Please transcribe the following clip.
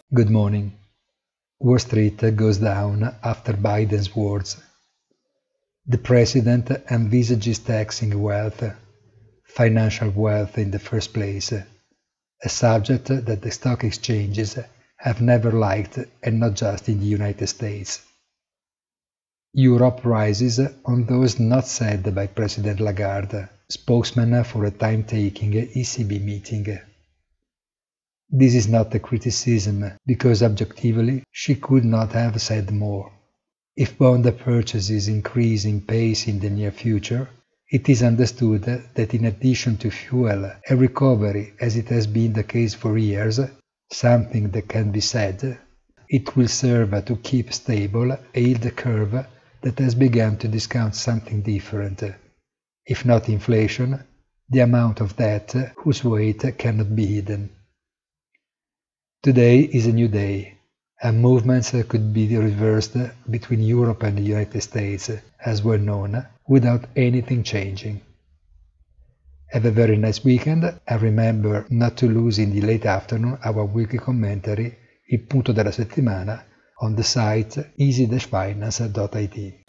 Good morning. Wall Street goes down after Biden's words. The president envisages taxing wealth, financial wealth in the first place, a subject that the stock exchanges have never liked, and not just in the United States. Europe rises on those not said by President Lagarde, spokesman for a time-taking ECB meeting. This is not a criticism, because objectively she could not have said more. If bond purchases increase in pace in the near future, it is understood that in addition to fuel a recovery, as it has been the case for years, something that can be said, it will serve to keep stable a yield curve that has begun to discount something different, if not inflation, the amount of debt whose weight cannot be hidden. Today is a new day, and movements could be reversed between Europe and the United States, as well known, without anything changing. Have a very nice weekend, and remember not to lose in the late afternoon our weekly commentary, Il punto della settimana, on the site easy-finance.it.